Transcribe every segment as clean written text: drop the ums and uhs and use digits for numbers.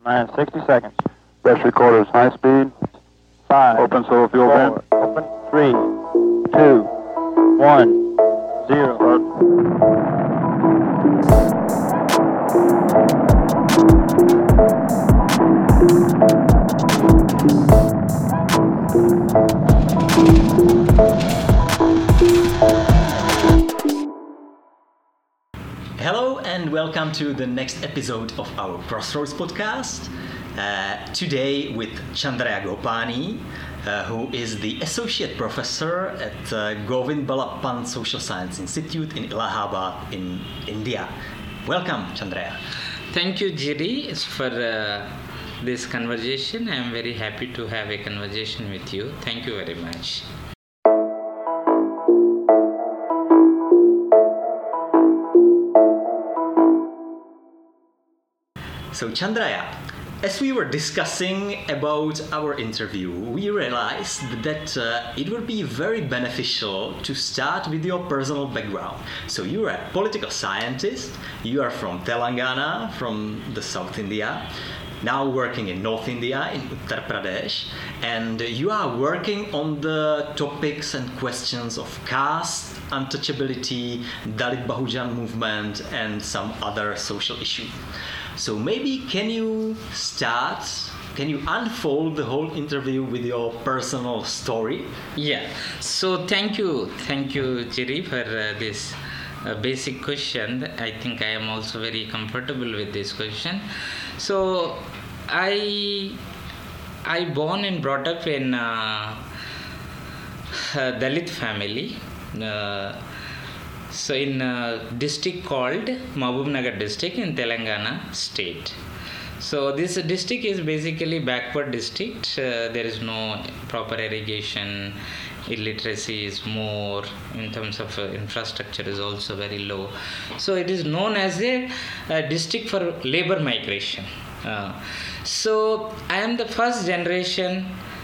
9, 60 seconds. Best recorders, high speed. 5. Open solo fuel vent. Open. 3, 2, 1, 0. Hello and welcome to the next episode of our Crossroads podcast. Today with Chandraya Gopani, who is the Associate Professor at Govind Ballabhan Social Science Institute in Allahabad in India. Welcome, Chandraya. Thank you, Jiri, for this conversation. I am very happy to have a conversation with you. Thank you very much. So, Chandraya, as we were discussing about our interview, we realized that it would be very beneficial to start with your personal background. So you are a political scientist, you are from Telangana, from the South India, now working in North India, in Uttar Pradesh, and you are working on the topics and questions of caste, untouchability, Dalit Bahujan movement, and some other social issues. So maybe can you unfold the whole interview with your personal story? Yeah, so thank you Jiri for this basic question. I think I am also very comfortable with this question. So I born and brought up in a Dalit family. So in a district called Mahbubnagar district in Telangana state. So this district is basically backward district. There is no proper irrigation. Illiteracy is more. In terms of infrastructure is also very low. So it is known as a district for labor migration. So I am the first generation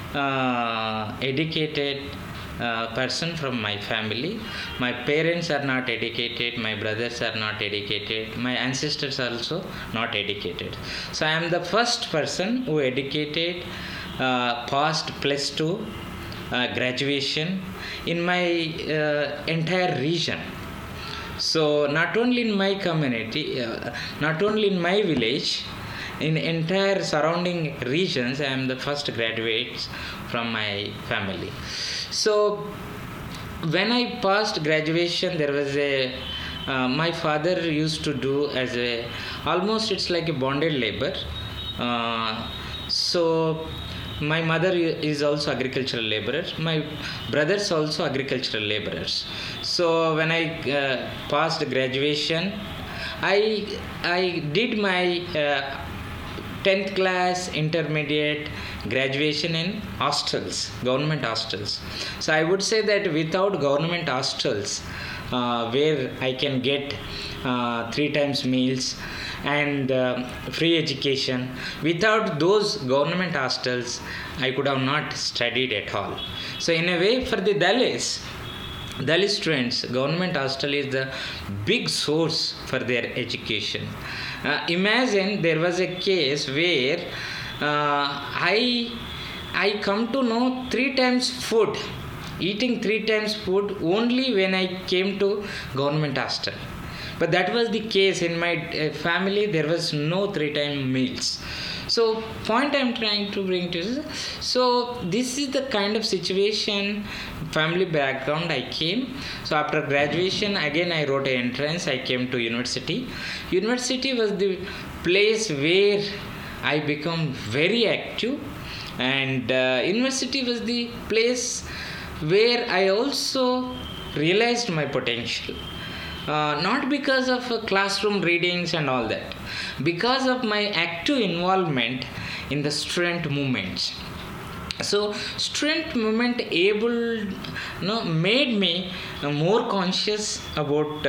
educated person from my family. My parents are not educated, my brothers are not educated, my ancestors are also not educated. So I am the first person who educated past plus 2 graduation in my entire region. So not only in my community, not only in my village, in entire surrounding regions, I am the first graduates from my family. So when I passed graduation, there was my father used to do as almost it's like a bonded labor. So my mother is also agricultural laborer. My brothers also agricultural laborers. So when I passed graduation, I did my 10th class, intermediate, graduation in hostels, government hostels. So I would say that without government hostels, where I can get 3 times meals and free education, without those government hostels, I could have not studied at all. So in a way, for the Dalit students, government hostel is the big source for their education. Imagine there was a case where I come to know 3 times food, eating 3 times food only when I came to government hostel. But that was the case in my family. There was no 3 time meals. So point I'm trying to bring to you. So this is the kind of situation, family background I came. So after graduation, again I wrote an entrance. I came to university. University was the place where I become very active, and university was the place where I also realized my potential. Not because of classroom readings and all that, because of my active involvement in the student movements. So student movement made me more conscious about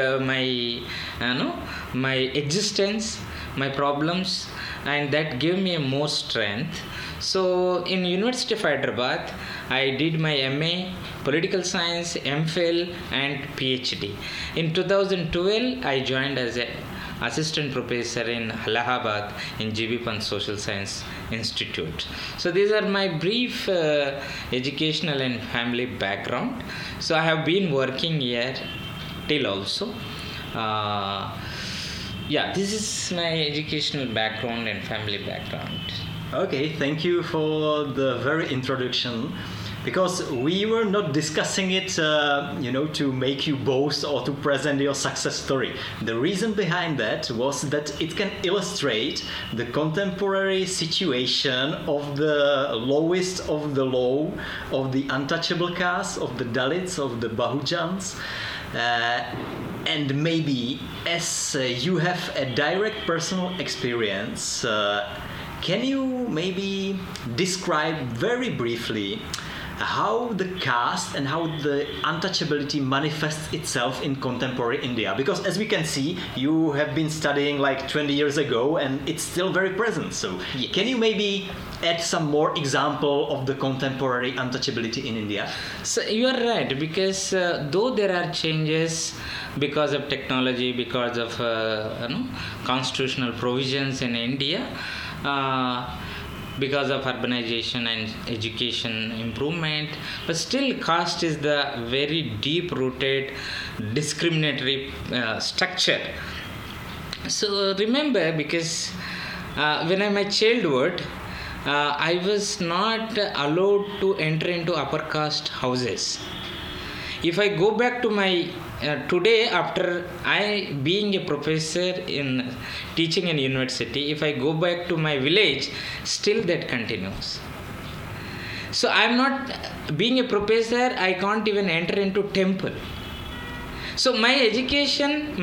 my existence, my problems, and that gave me more strength. So in University of Hyderabad, I did my MA Political Science, MPhil and PhD. In 2012, I joined as a assistant professor in Allahabad in GB Pant Social Science Institute. So these are my brief educational and family background. So I have been working here till also. This is my educational background and family background. Okay, thank you for the very introduction. Because we were not discussing it, to make you boast or to present your success story. The reason behind that was that it can illustrate the contemporary situation of the lowest of the low, of the untouchable caste, of the Dalits, of the Bahujans. And maybe as you have a direct personal experience, can you maybe describe very briefly how the caste and how the untouchability manifests itself in contemporary India? Because as we can see, you have been studying like 20 years ago and it's still very present. So can you maybe add some more example of the contemporary untouchability in India? So you are right, because though there are changes because of technology, because of constitutional provisions in India, because of urbanization and education improvement, but still caste is the very deep rooted discriminatory structure. So remember, because when I'm a childhood, I was not allowed to enter into upper caste houses. If I go back to my today, after I being a professor in teaching in university, if I go back to my village, still that continues. So I'm not being a professor, I can't even enter into temple. So my education,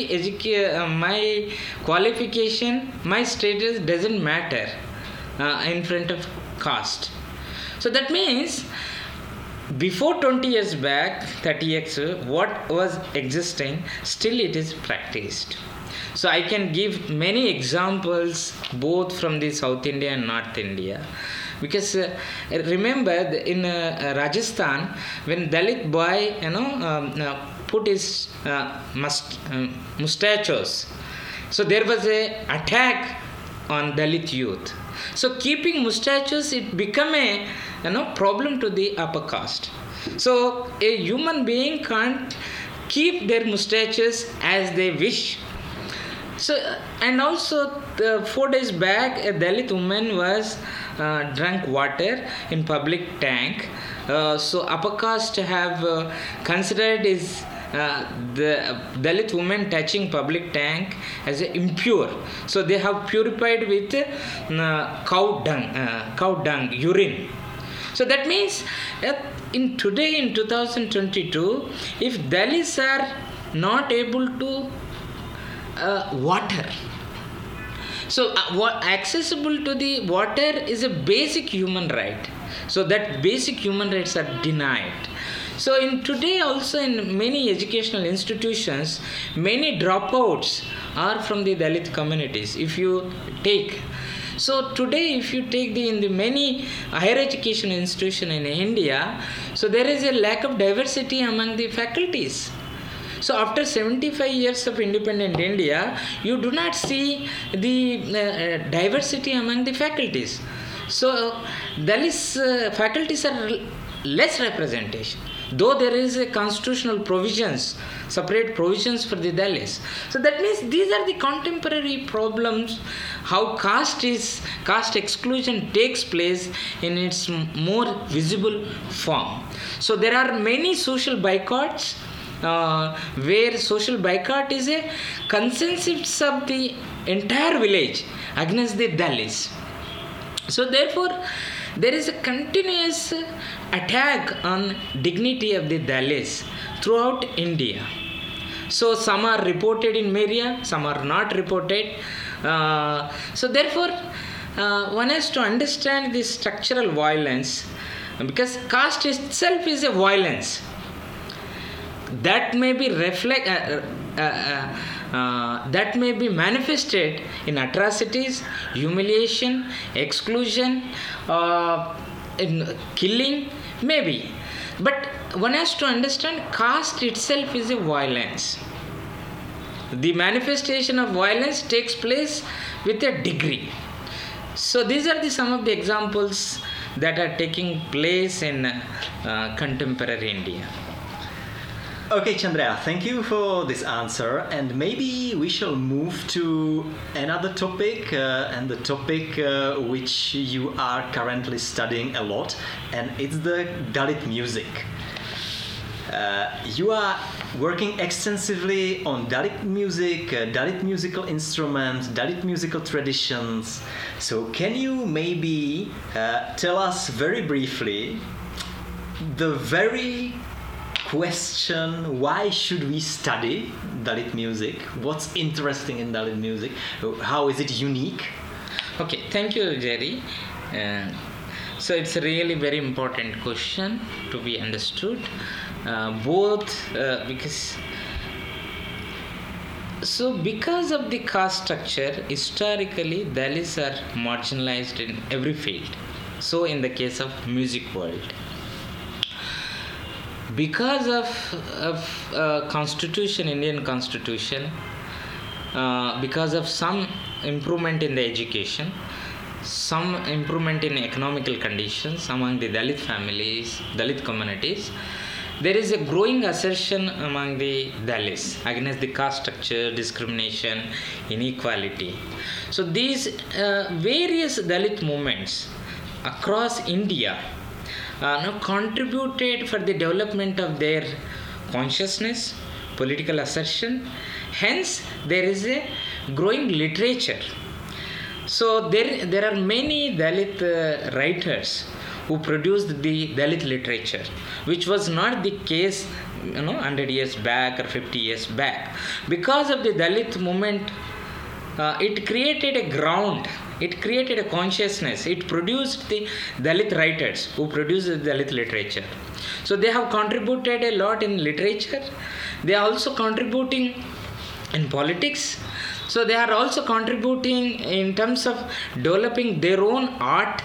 my qualification, my status doesn't matter in front of caste. So that means before 20 years back, 30 years, what was existing, still it is practiced. So I can give many examples both from the South India and North India. Because remember in Rajasthan, when Dalit boy, put his mustaches, so there was a attack on Dalit youth. So keeping mustaches, it became a problem to the upper caste. So a human being can't keep their mustaches as they wish. So and also 4 days back, a Dalit woman was drank water in public tank. So upper caste have considered is the Dalit woman touching public tank as impure. So they have purified with cow dung, urine. So that means in 2022, if Dalits are not able to water, so what accessible to the water is a basic human right. So that basic human rights are denied. So in today also in many educational institutions, many dropouts are from the Dalit communities. If you take, so today if you take in the many higher education institution in India, so there is a lack of diversity among the faculties. So after 75 years of independent India, you do not see the diversity among the faculties. So Dalit faculties are less representation, though there is a constitutional provisions, separate provisions for the Dalits. So that means these are the contemporary problems, how caste exclusion takes place in its more visible form. So there are many social boycotts where social boycott is a consensus of the entire village against the Dalits. So therefore, there is a continuous attack on dignity of the Dalits throughout India. So some are reported in media, some are not reported. So therefore, one has to understand this structural violence, because caste itself is a violence that may be that may be manifested in atrocities, humiliation, exclusion, in killing, maybe. But one has to understand caste itself is a violence. The manifestation of violence takes place with a degree. So these are some of the examples that are taking place in contemporary India. Okay, Chandra, thank you for this answer, and maybe we shall move to another topic, and the topic which you are currently studying a lot, and it's the Dalit music. You are working extensively on Dalit music, Dalit musical instruments, Dalit musical traditions. So can you maybe tell us very briefly the very question, why should we study Dalit music? What's interesting in Dalit music? How is it unique? Okay, thank you, Jerry. So it's a really very important question to be understood. Because of the caste structure, historically Dalits are marginalized in every field. So in the case of music world, because of constitution, Indian constitution, because of some improvement in the education, some improvement in economical conditions among the Dalit families, Dalit communities, there is a growing assertion among the Dalits against the caste structure, discrimination, inequality. So these various Dalit movements across India now contributed for the development of their consciousness, political assertion. Hence, there is a growing literature. So there are many Dalit writers who produced the Dalit literature, which was not the case 100 years back or 50 years back. Because of the Dalit movement, it created a ground, it created a consciousness, it produced the Dalit writers who produced the Dalit literature. So they have contributed a lot in literature. They are also contributing in politics. So they are also contributing in terms of developing their own art.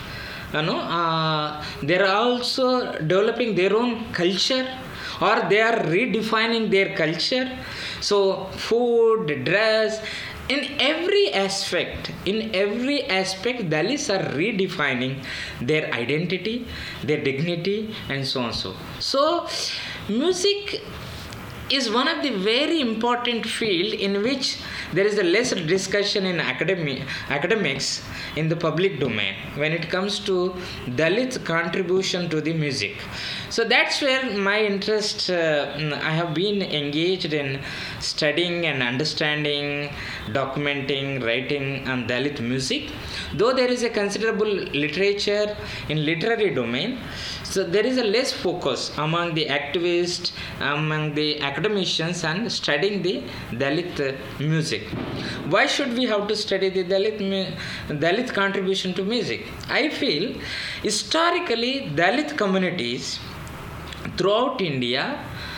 They are also developing their own culture, or they are redefining their culture. So food, dress, in every aspect, Dalits are redefining their identity, their dignity, and so on. So music is one of the very important field in which there is a less discussion in academics in the public domain when it comes to Dalit contribution to the music. So that's where my interest, I have been engaged in studying and understanding, documenting, writing on Dalit music. Though there is a considerable literature in literary domain, so there is a less focus among the activists, among the academicians on studying the Dalit music. Why should we have to study the Dalit contribution to music? I feel historically Dalit communities throughout India,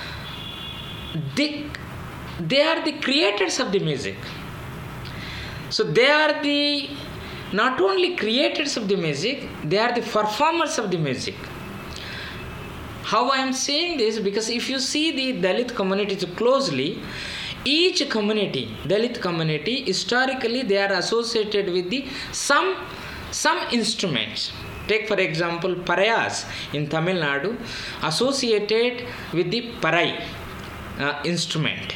they are the creators of the music. So they are the not only creators of the music, they are the performers of the music. How I am saying this? Because if you see the Dalit communities closely, each community, Dalit community, historically they are associated with the some instruments. Take for example Parayas in Tamil Nadu, associated with the Parai instrument.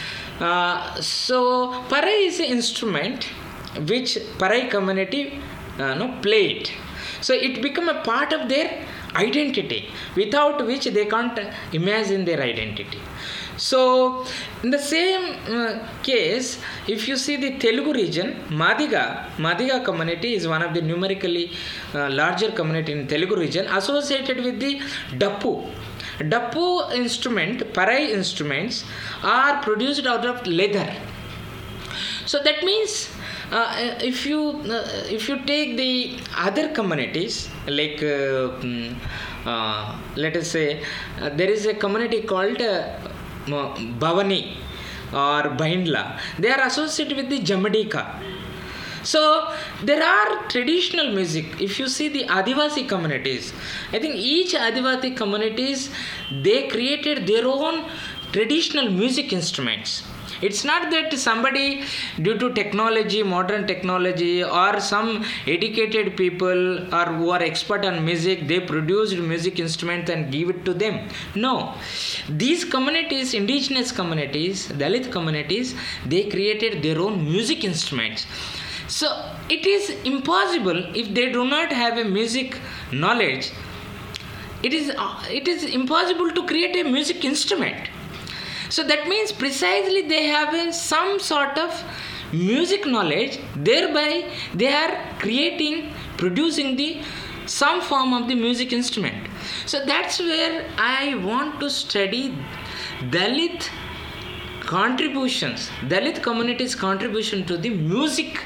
So Parai is an instrument which Parai community played. So it became a part of their identity, without which they can't imagine their identity. So in the same case, if you see the Telugu region, Madiga community is one of the numerically larger community in Telugu region, associated with the Dappu. Dappu instrument, Parai instruments are produced out of leather. So that means if you take the other communities, like let us say there is a community called Bhavani or Baindla, they are associated with the Jamadika. So there are traditional music. If you see the Adivasi communities, I think each Adivasi communities, they created their own traditional music instruments. It's not that somebody, due to technology, modern technology, or some educated people or who are expert on music, they produced music instruments and give it to them. No. These communities, indigenous communities, Dalit communities, they created their own music instruments. So it is impossible if they do not have a music knowledge. It is impossible to create a music instrument. So that means precisely they have some sort of music knowledge, thereby they are producing some form of the music instrument. So that's where I want to study Dalit contributions, Dalit community's contribution to the music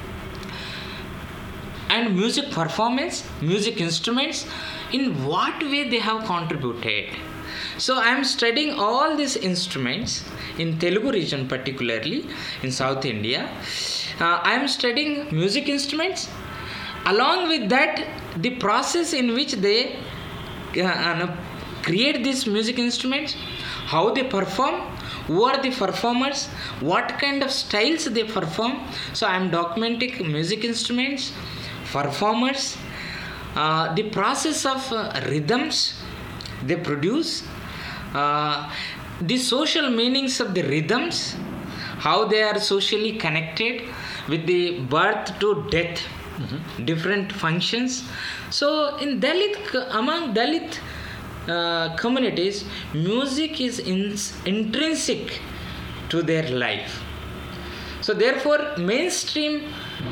and music performance, music instruments, in what way they have contributed. So I am studying all these instruments in Telugu region, particularly in South India. I am studying music instruments. Along with that, the process in which they create these music instruments, how they perform, who are the performers, what kind of styles they perform. So I am documenting music instruments, performers, the process of rhythms they produce, the social meanings of the rhythms, how they are socially connected with the birth to death, different functions. So in among Dalit communities, music is intrinsic to their life. So therefore, mainstream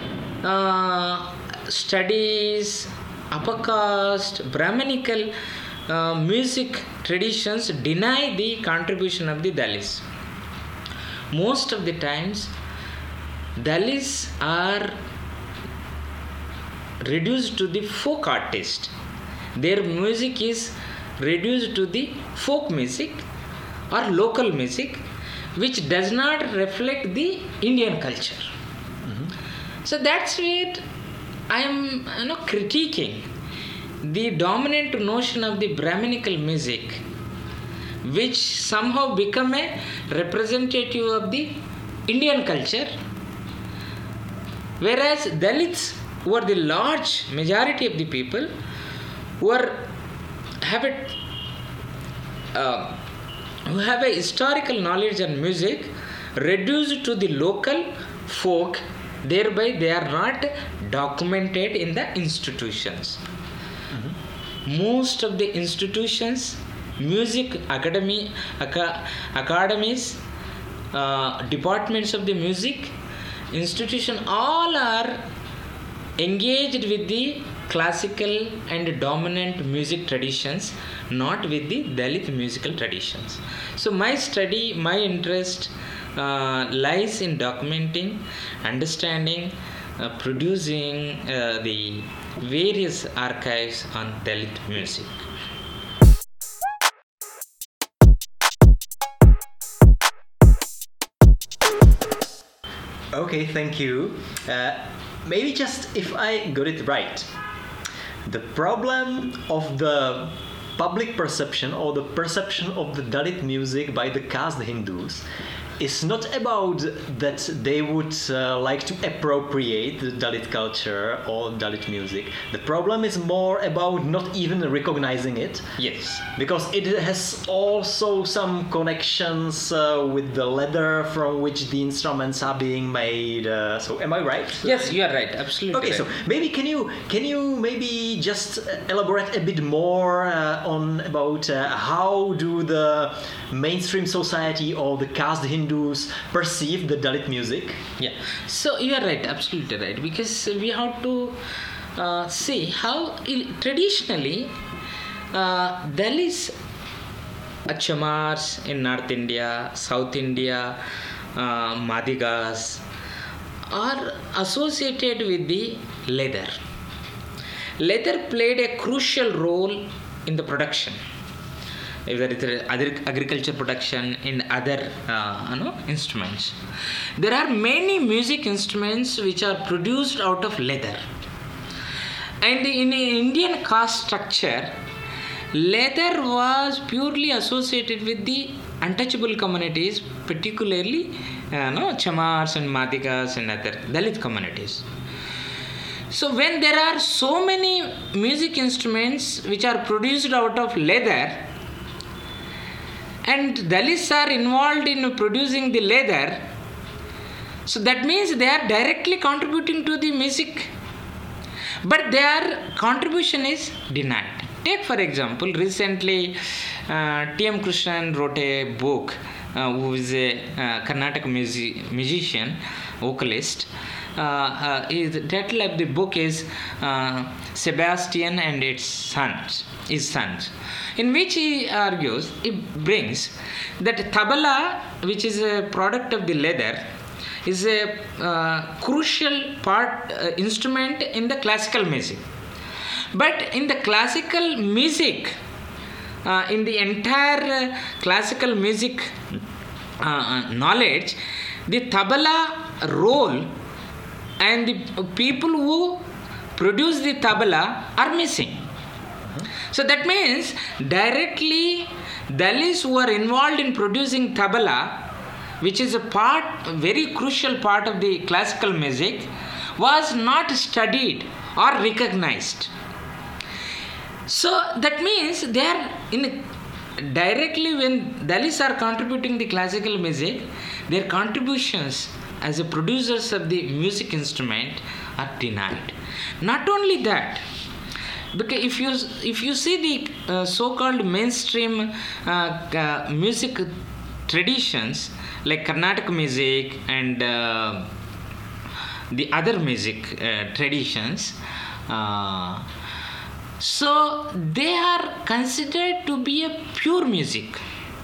studies, upper caste, Brahminical music traditions deny the contribution of the Dalits. Most of the times, Dalits are reduced to the folk artist. Their music is reduced to the folk music or local music, which does not reflect the Indian culture. So that's where I am critiquing the dominant notion of the Brahminical music, which somehow become a representative of the Indian culture, whereas Dalits, who are the large majority of the people, who have a historical knowledge and music, reduced to the local folk, thereby they are not documented in the institutions. Most of the institutions, music academies, departments of the music institution, all are engaged with the classical and dominant music traditions, not with the Dalit musical traditions. So my study, my interest lies in documenting, understanding, producing the various archives on Dalit music. Okay, thank you. Maybe just if I got it right, the problem of the public perception or the perception of the Dalit music by the caste Hindus is not about that they would like to appropriate the Dalit culture or Dalit music. The problem is more about not even recognizing it. Yes. Because it has also some connections with the leather from which the instruments are being made. So am I right? Yes, you are right. Absolutely. Okay, right. so maybe can you maybe just elaborate a bit more on about how do the mainstream society or the caste Hindus perceive the Dalit music? Yeah, so you are right, absolutely right, because we have to see how traditionally Dalits, Chamars in North India, South India, Madigas are associated with the leather. Leather played a crucial role in the production, whether it's agriculture production in other instruments. There are many music instruments which are produced out of leather. And in Indian caste structure, leather was purely associated with the untouchable communities, particularly Chamars and Madigas and other Dalit communities. So when there are so many music instruments which are produced out of leather, and Dalits are involved in producing the leather, so that means they are directly contributing to the music, but their contribution is denied. Take for example, recently T.M. Krishnan wrote a book, who is a Carnatic musician, vocalist. The title of the book is Sebastian and his sons, in which he argues, he brings that tabla, which is a product of the leather, is a crucial instrument in the classical music. But in the classical music, in the entire classical music knowledge, the tabla role and the people who produce the tabla are missing. So that means directly Dalits who are involved in producing tabla, which is a very crucial part of the classical music, was not studied or recognized. So that means they are directly, when Dalits are contributing the classical music, their contributions as a producers of the music instrument are denied. Not only that, because if you see the so-called mainstream music traditions like Carnatic music and the other music traditions, so they are considered to be a pure music,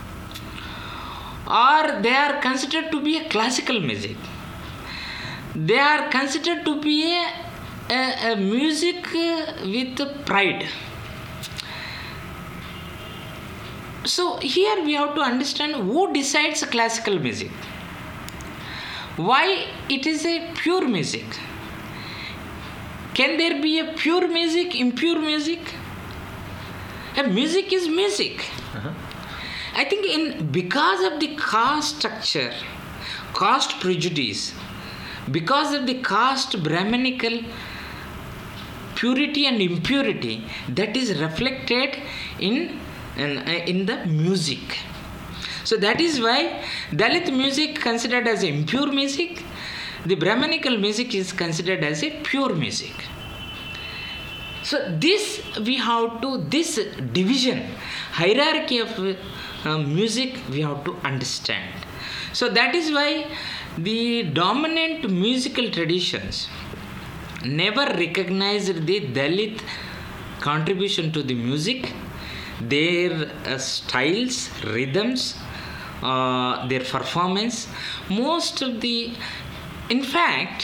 or they are considered to be a classical music. They are considered to be a music with pride. So here we have to understand who decides classical music. Why it is a pure music? Can there be a pure music, impure music? A music is music. I think because of the caste structure, caste prejudice, because of the caste Brahminical purity and impurity, that is reflected in the music. So that is why Dalit music considered as impure music, the Brahminical music is considered as a pure music. So this division, hierarchy of music we have to understand. So that is why the dominant musical traditions never recognized the Dalit contribution to the music, their styles, rhythms, their performance. In fact,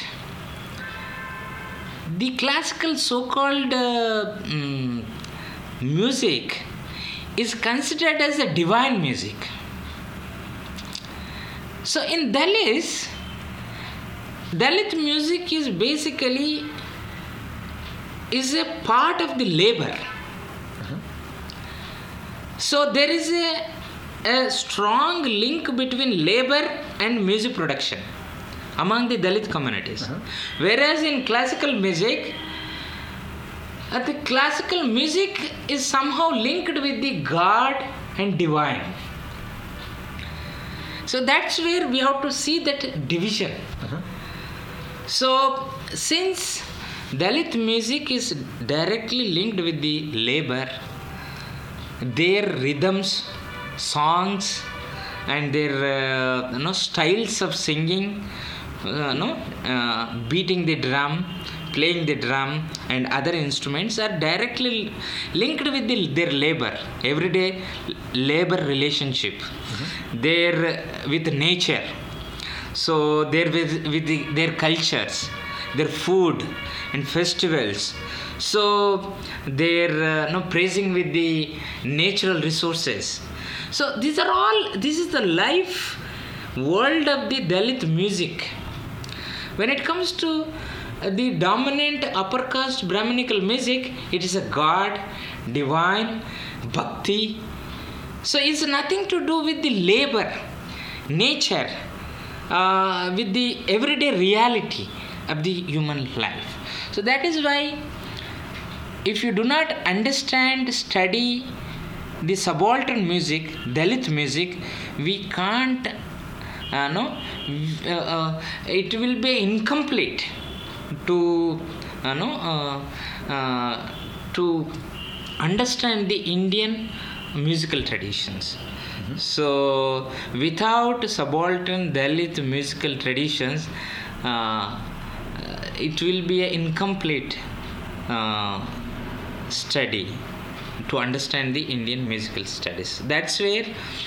the classical so-called music is considered as a divine music. So in Dalit music is basically a part of the labor. So there is a strong link between labor and music production among the Dalit communities. Whereas in classical music, the classical music is somehow linked with the God and divine. So that's where we have to see that division. So since Dalit music is directly linked with the labor, their rhythms, songs, and their styles of singing, beating the drum, playing the drum, and other instruments are directly linked with their labor, everyday labor relationship, with nature. So they're with their cultures, their food and festivals. So they're praising with the natural resources. So this is the life world of the Dalit music. When it comes to the dominant upper caste Brahminical music, it is a God, divine, bhakti. So it's nothing to do with the labor, nature, with the everyday reality of the human life. So that is why if you do not understand, study the subaltern music, Dalit music, we can't, it will be incomplete to, to understand the Indian musical traditions. So without subaltern Dalit musical traditions, it will be an incomplete study to understand the Indian musical studies. That's where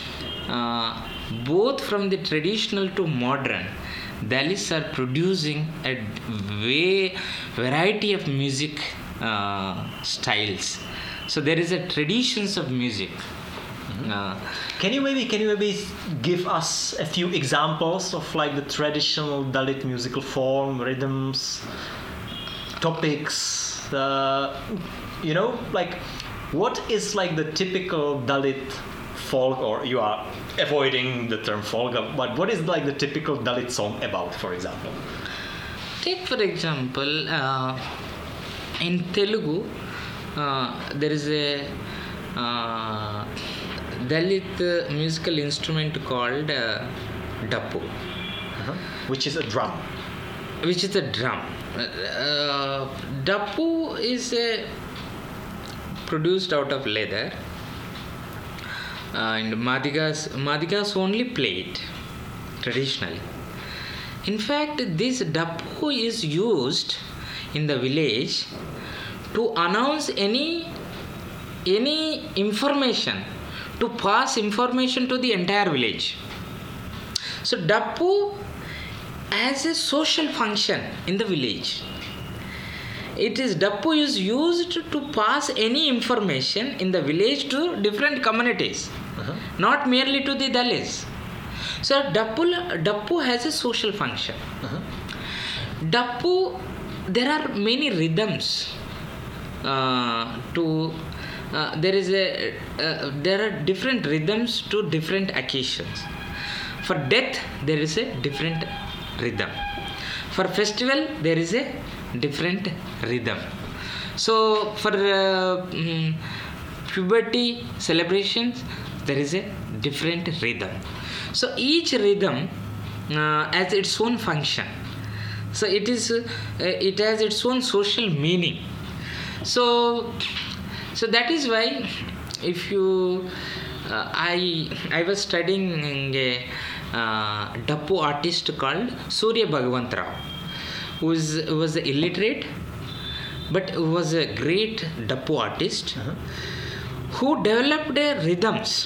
both from the traditional to modern, Dalits are producing a variety of music styles. So there is a traditions of music. Can you maybe give us a few examples of like the traditional Dalit musical form, rhythms, topics? Like what is like the typical Dalit folk, or you are avoiding the term folk, but what is like the typical Dalit song about, for example? Take for example, in Telugu, there is a Dalit musical instrument called Dappu, which is a drum. Dappu is produced out of leather, and Madigas only play it traditionally. In fact, this Dappu is used in the village to announce any information, to pass information to the entire village. So Dappu as a social function in the village. Dappu is used to pass any information in the village to different communities, not merely to the Dalits. So Dappu has a social function. Dappu, there are many rhythms. There are different rhythms to different occasions. For death, there is a different rhythm. For festival, there is a different rhythm. So for puberty celebrations, there is a different rhythm. So each rhythm has its own function. So it has its own social meaning. So that is why if you I was studying a Dappu artist called Surya Bhagwant Rao, who was illiterate but who was a great Dappu artist, who developed rhythms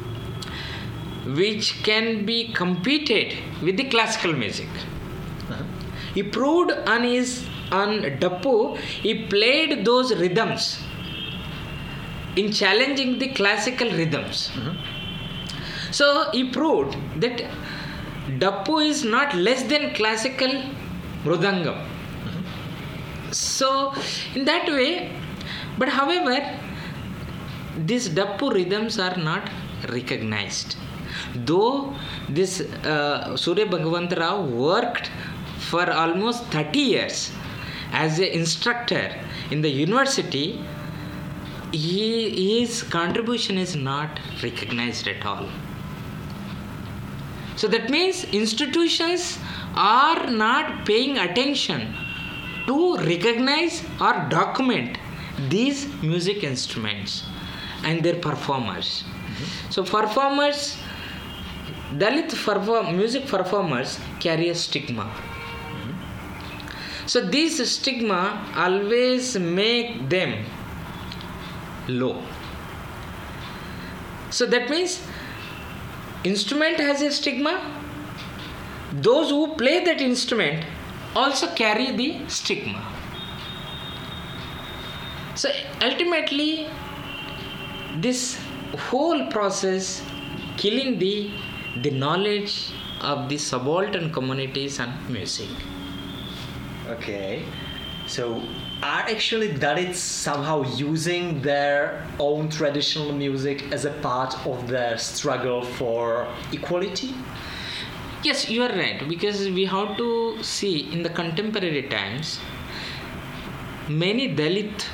which can be competed with the classical music. He proved on Dappu, he played those rhythms in challenging the classical rhythms. So he proved that Dappu is not less than classical Mridangam. So in that way, but however, these Dappu rhythms are not recognized. Though this Surya Bhagwant Rao worked for almost 30 years as an instructor in the university, his contribution is not recognized at all. So that means institutions are not paying attention to recognize or document these music instruments and their performers. So performers, Dalit music performers carry a stigma. So this stigma always make them low. So that means instrument has a stigma. Those who play that instrument also carry the stigma. So ultimately, this whole process killing the knowledge of the subaltern communities and music. Okay. So are actually Dalits somehow using their own traditional music as a part of their struggle for equality? Yes, you are right, because we have to see in the contemporary times many Dalit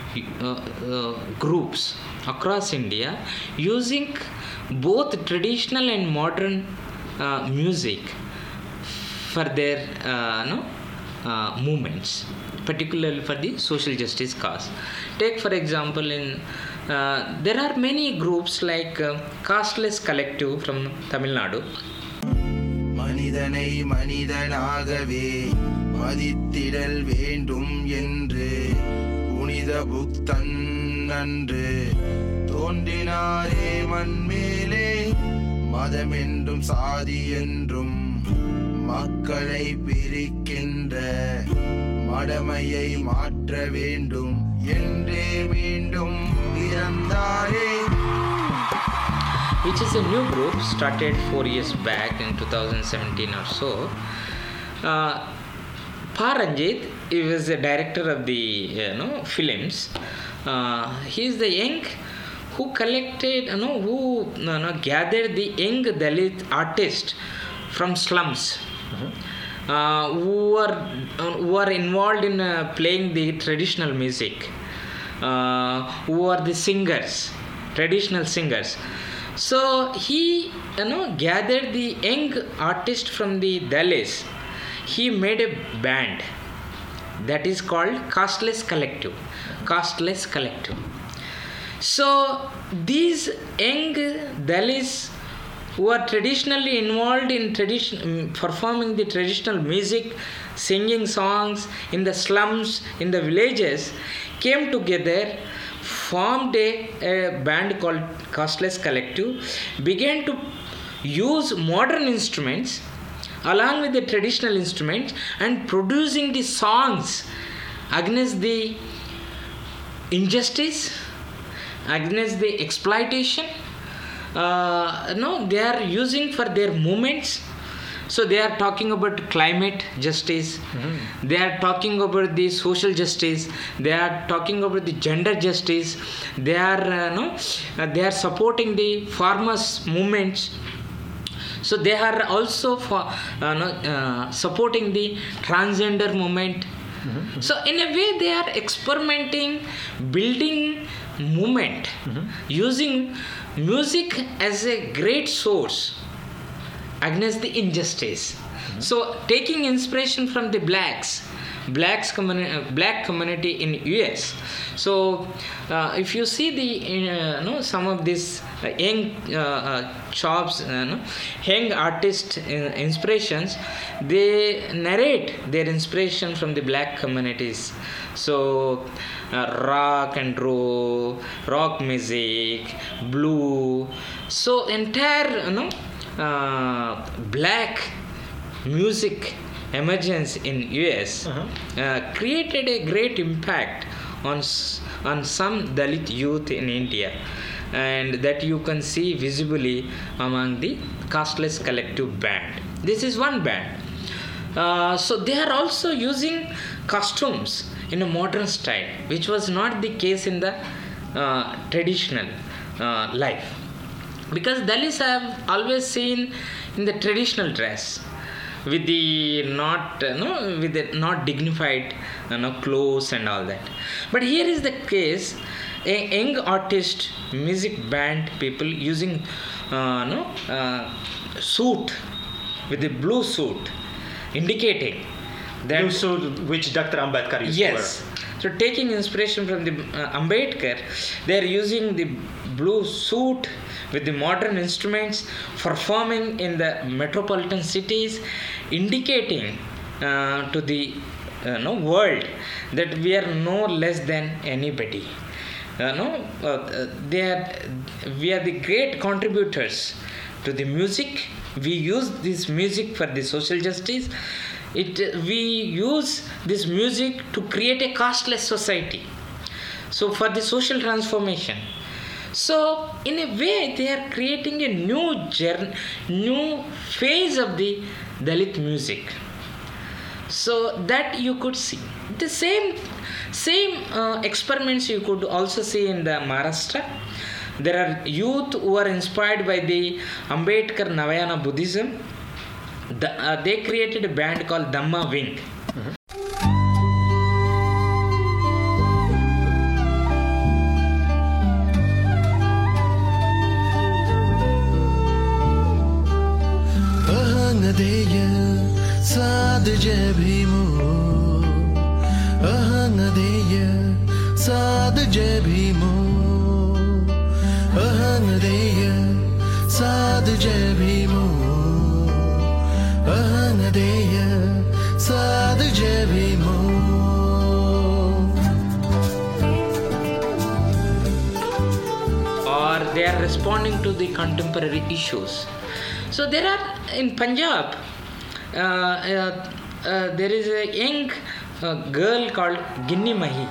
groups across India using both traditional and modern music for their movements, particularly for the social justice cause. Take for example, in there are many groups like Casteless Collective from Tamil Nadu. மனிதனை மனிதனாகவே மதித்திடல் வேண்டும் என்று புனித புக்தன் அன்று தோன்றினாரே மண்மேலே மதமென்றும் சாதி என்றும் மக்களை பிரிக்கின்ற மடமையை மாற்ற வேண்டும் என்றே மீண்டும் பிறந்தாரே. Which is a new group started 4 years back in 2017 or so. Pa Ranjit, he was the director of the films. He is the young who collected, gathered the young Dalit artists from slums, who are involved in playing the traditional music, who are the singers, traditional singers. So he gathered the young artist from the Dalits. He made a band that is called Casteless Collective. Casteless Collective. So these young Dalits who are traditionally involved in performing the traditional music, singing songs in the slums, in the villages, came together, formed a band called Casteless Collective, began to use modern instruments along with the traditional instruments and producing the songs against the injustice, against the exploitation. They are using for their movements. So they are talking about climate justice, they are talking about the social justice, they are talking about the gender justice, they are supporting the farmers' movements. So they are also supporting the transgender movement. So in a way they are experimenting, building movement, using music as a great source against the injustice. So taking inspiration from the black community in US. So if you see the some of these young young artist inspirations, they narrate their inspiration from the black communities. So rock and roll, rock music, blue. So entire black music emergence in US created a great impact on some Dalit youth in India, and that you can see visibly among the Casteless Collective band. This is one band. So they are also using costumes in a modern style, which was not the case in the traditional life. Because Dalits I have always seen in the traditional dress, with the not dignified clothes and all that. But here is the case: a young artist, music band people using suit, with the blue suit, indicating that Blue suit which Dr. Ambedkar used to wear. yes. So taking inspiration from the Ambedkar, they are using the blue suit with the modern instruments, performing in the metropolitan cities, indicating to the world that we are no less than anybody. We are the great contributors to the music. We use this music for the social justice. We use this music to create a casteless society. So for the social transformation. So in a way they are creating a new phase of the Dalit music. So that you could see the same experiments you could also see in the Maharashtra. There are youth who are inspired by the Ambedkar Navayana Buddhism. They created a band called Dhamma Wing. Or they are responding to the contemporary issues. So there are in Punjab, there is a young girl called Ginni Mahi.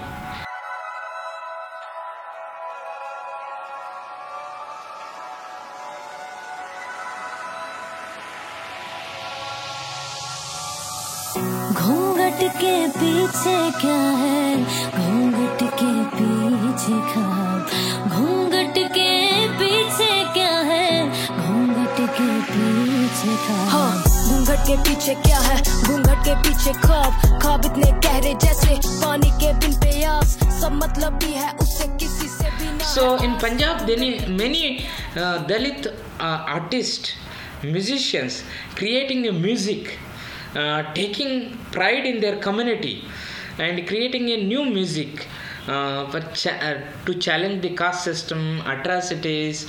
घूंघट के पीछे क्या है, घूंघट के पीछे ख्वाब, घूंघट के पीछे क्या है, घूंघट के पीछे ख्वाब। हाँ, घूंघट के पीछे क्या है, घूंघट के पीछे ख्वाब, ख्वाब इतने गहरे जैसे पानी के बिन प्यास, सब मतलब भी है उससे किसी से भी ना। So in Punjab, there are many Dalit artists, musicians creating a music. Taking pride in their community and creating a new music to challenge the caste system, atrocities,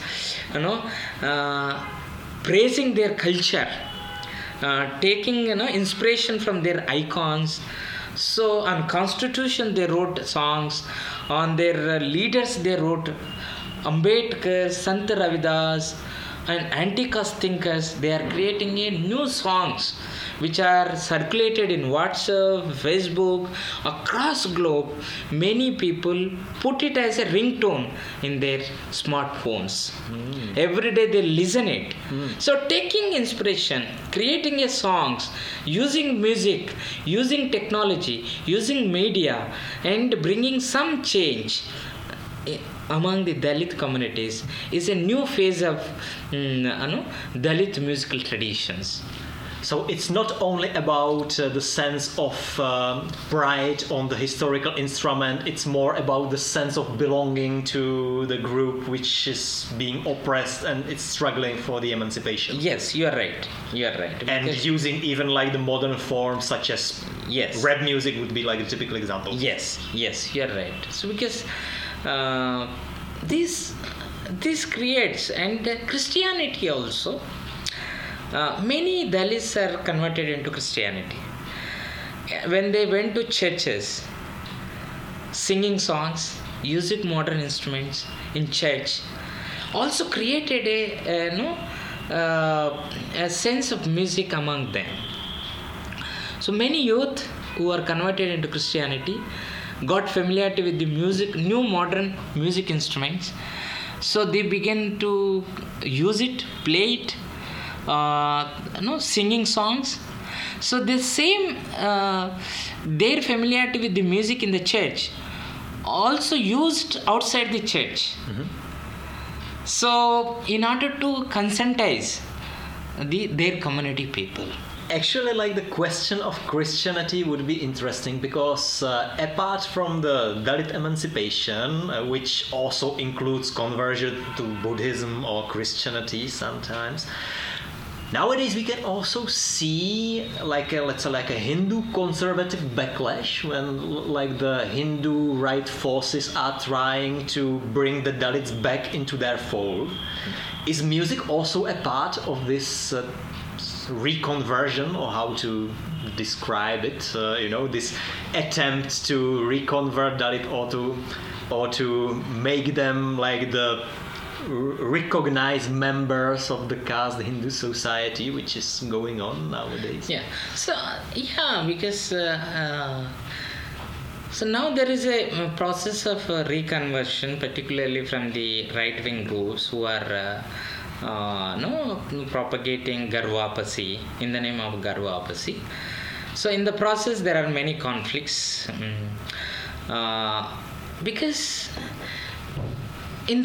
praising their culture, taking inspiration from their icons. So on Constitution they wrote songs, on their leaders they wrote Ambedkar, Sant Ravidas, and anti-caste thinkers. They are creating a new songs which are circulated in WhatsApp, Facebook, across globe. Many people put it as a ringtone in their smartphones. Every day they listen it. So taking inspiration, creating a songs, using music, using technology, using media, and bringing some change among the Dalit communities is a new phase of Dalit musical traditions. So it's not only about the sense of pride on the historical instrument, it's more about the sense of belonging to the group which is being oppressed and it's struggling for the emancipation. Yes, you are right. You are right. And using even like the modern forms such as rap music would be like a typical example. Yes, you are right. So because this creates, and Christianity also, many Dalits are converted into Christianity. When they went to churches, singing songs, using modern instruments in church, also created a sense of music among them. So many youth who are converted into Christianity got familiarity with the music, new modern music instruments. So they began to use it, play it, singing songs. So the same, their familiarity with the music in the church also used outside the church. So in order to conscientize their community people. Actually, like the question of Christianity would be interesting because apart from the Dalit emancipation, which also includes conversion to Buddhism or Christianity sometimes, nowadays we can also see like a Hindu conservative backlash when like the Hindu right forces are trying to bring the Dalits back into their fold. Is music also a part of this reconversion, or how to describe it? This attempt to reconvert Dalit or to make them like the recognized members of the caste Hindu society, which is going on nowadays. Because so now there is a process of reconversion, particularly from the right-wing groups who are propagating Garvapasi in the name of Garvapasi. So in the process there are many conflicts, because in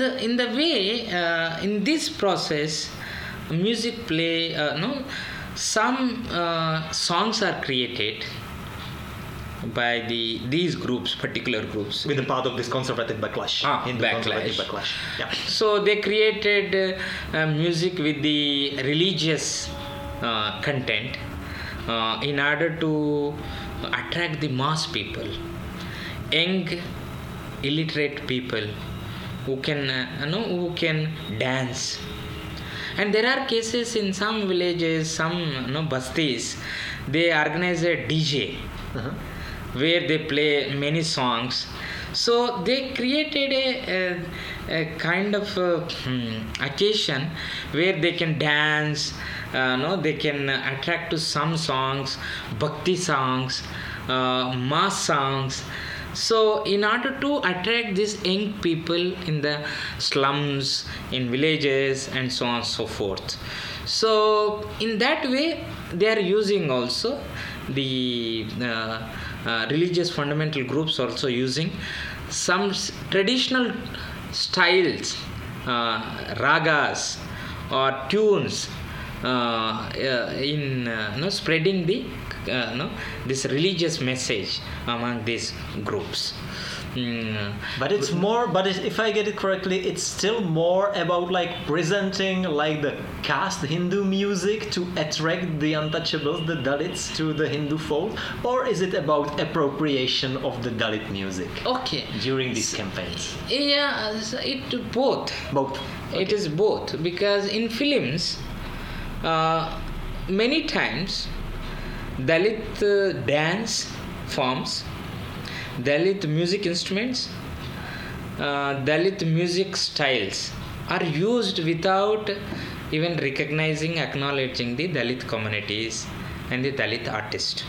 this process music play, some songs are created by these groups, particular groups, with the part of this conservative backlash. Backlash. Conservative backlash. Yeah. So they created music with the religious content in order to attract the mass people, young, illiterate people who can dance. And there are cases in some villages, some bastis, they organize a DJ. Where they play many songs. So they created a kind of occasion where they can dance, they can attract to some songs, bhakti songs, mass songs. So in order to attract these young people in the slums, in villages and so on and so forth. So in that way they are using also the religious fundamental groups also using some traditional styles, ragas or tunes in spreading the this religious message among these groups. But it's more, if I get it correctly, it's still more about like presenting like the caste Hindu music to attract the untouchables, the Dalits, to the Hindu fold, or is it about appropriation of the Dalit music? Okay. During these campaigns? Yeah, it both. Both. Okay. It is both, because in films, many times Dalit dance forms, Dalit music instruments, Dalit music styles are used without even recognizing, acknowledging the Dalit communities and the Dalit artist.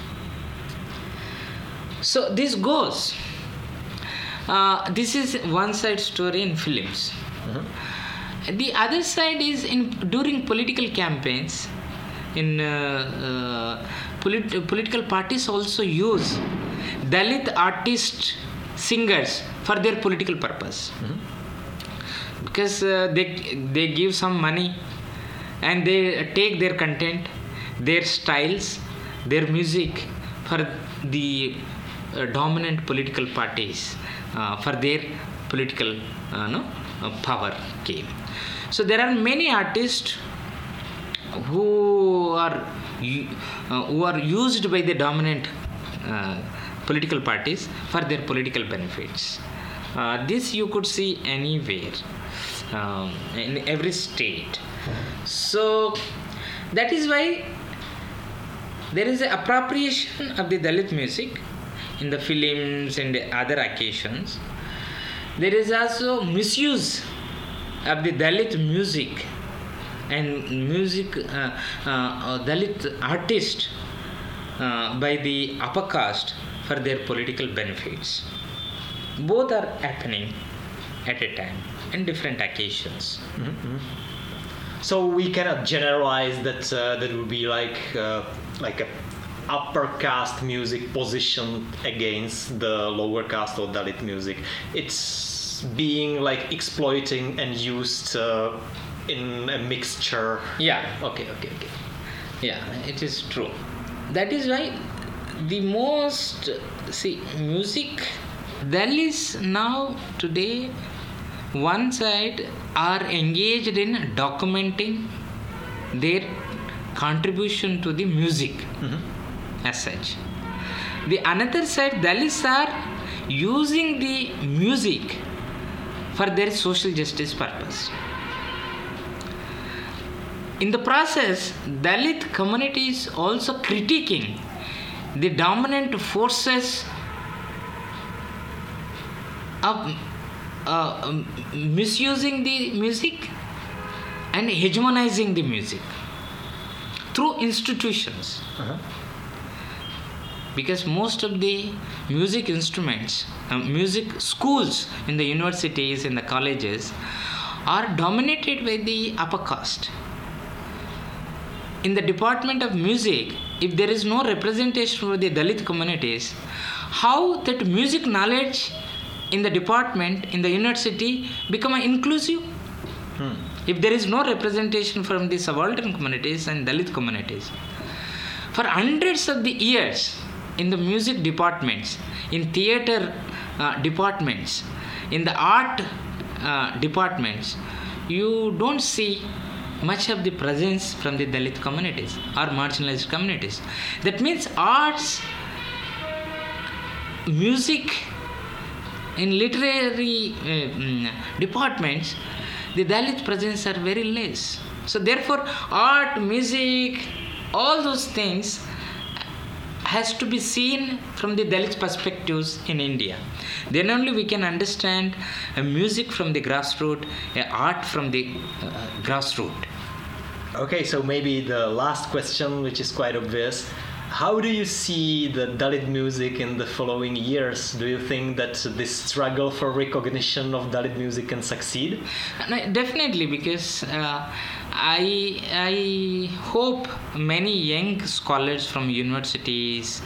So this goes. This is one side story in films. The other side is during political campaigns. In political parties also use Dalit artist singers for their political purpose, because they give some money and they take their content, their styles, their music for the dominant political parties, for their political power game. So there are many artists who are used by the dominant political parties for their political benefits. This you could see anywhere, in every state. So that is why there is an appropriation of the Dalit music in the films and the other occasions. There is also misuse of the Dalit music and music Dalit artist by the upper caste for their political benefits. Both are happening at a time in different occasions. So we cannot generalize that that would be like a upper caste music positioned against the lower caste or Dalit music. It's being like exploiting and used in a mixture. Yeah. Okay. Yeah, it is true. That is why the most music Dalits now today one side are engaged in documenting their contribution to the music as such. The another side, Dalits are using the music for their social justice purpose. In the process, Dalit community is also critiquing the dominant forces of misusing the music and hegemonizing the music through institutions. Because most of the music instruments, music schools in the universities, in the colleges are dominated by the upper caste. in the department of music, if there is no representation for the Dalit communities, how that music knowledge in the department, in the university, become inclusive? If there is no representation from the subaltern communities and Dalit communities. For hundreds of the years, in the music departments, in theater departments, in the art departments, you don't see much of the presence from the Dalit communities or marginalized communities. That means arts, music, in literary departments, the Dalit presence are very less. So therefore, art, music, all those things has to be seen from the Dalit perspectives in India. Then only we can understand music from the grassroots, art from the grassroots. Okay, so maybe the last question, which is quite obvious. How do you see the Dalit music in the following years? Do you think that this struggle for recognition of Dalit music can succeed? Definitely, because I hope many young scholars from universities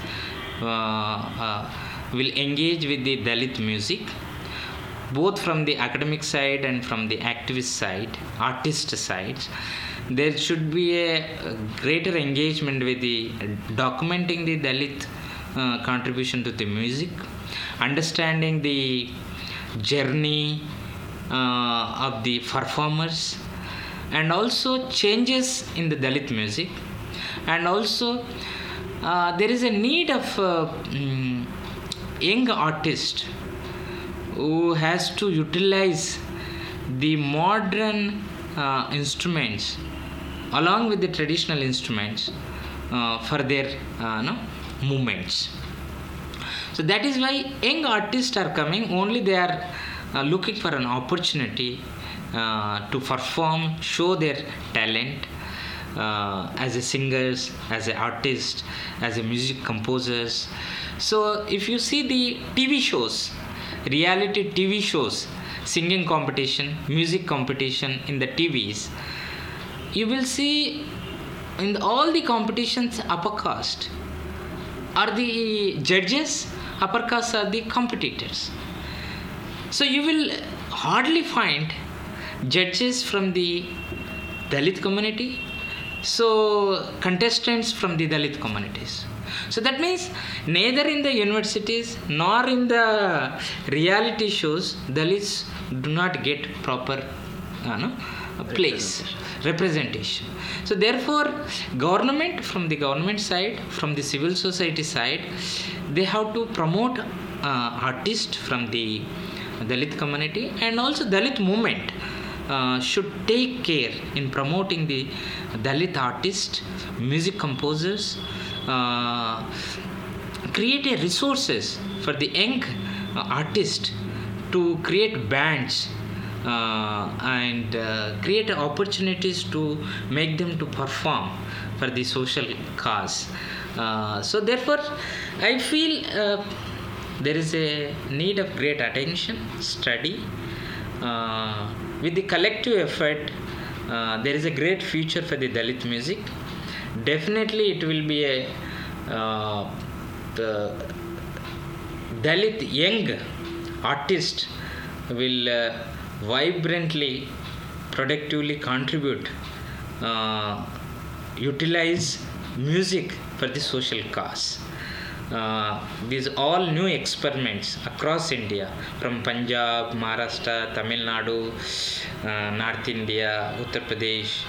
will engage with the Dalit music, both from the academic side and from the activist side, artist side. There should be a greater engagement with the documenting the Dalit contribution to the music, understanding the journey of the performers, and also changes in the Dalit music. And also there is a need of young artist who has to utilize the modern instruments along with the traditional instruments for their movements. So that is why young artists are coming. Only they are looking for an opportunity to perform, show their talent as a singers, as an artist, as a music composers. So if you see the TV shows, reality TV shows, singing competition, music competition in the TVs, you will see in all the competitions upper caste are the judges, upper caste are the competitors. So you will hardly find judges from the Dalit community, so contestants from the Dalit communities. So that means neither in the universities nor in the reality shows Dalits do not get proper place, representation. So therefore, government, from the government side, from the civil society side, they have to promote artists from the Dalit community, and also Dalit movement should take care in promoting the Dalit artists, music composers, create a resources for the young artists to create bands and create opportunities to make them to perform for the social cause. So therefore, I feel there is a need of great attention, study. With the collective effort, there is a great future for the Dalit music. Definitely, it will be a the Dalit young artist will vibrantly, productively contribute, utilize music for the social cause. These all new experiments across India, from Punjab, Maharashtra, Tamil Nadu, North India, Uttar Pradesh,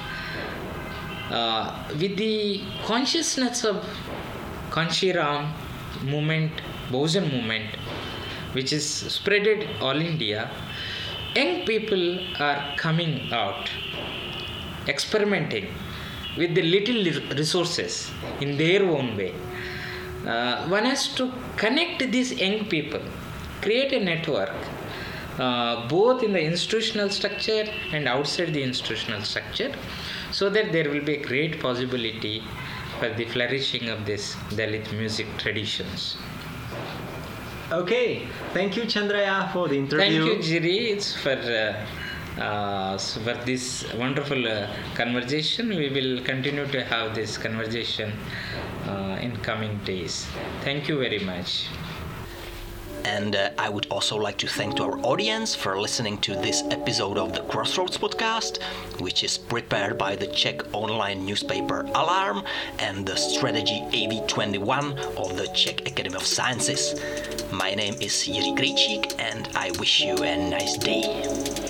with the consciousness of Kanshiram movement, Bahujan movement, which is spreaded all India, young people are coming out, experimenting with the little resources in their own way. One has to connect these young people, create a network, both in the institutional structure and outside the institutional structure, so that there will be a great possibility for the flourishing of this Dalit music traditions. Okay, thank you Chandraya for the interview. Thank you Jiri, it's for So for this wonderful conversation, we will continue to have this conversation in coming days. Thank you very much. And I would also like to thank to our audience for listening to this episode of the Crossroads podcast, which is prepared by the Czech online newspaper Alarm and the strategy AV21 of the Czech Academy of Sciences. My name is Jiří Krejčík and I wish you a nice day.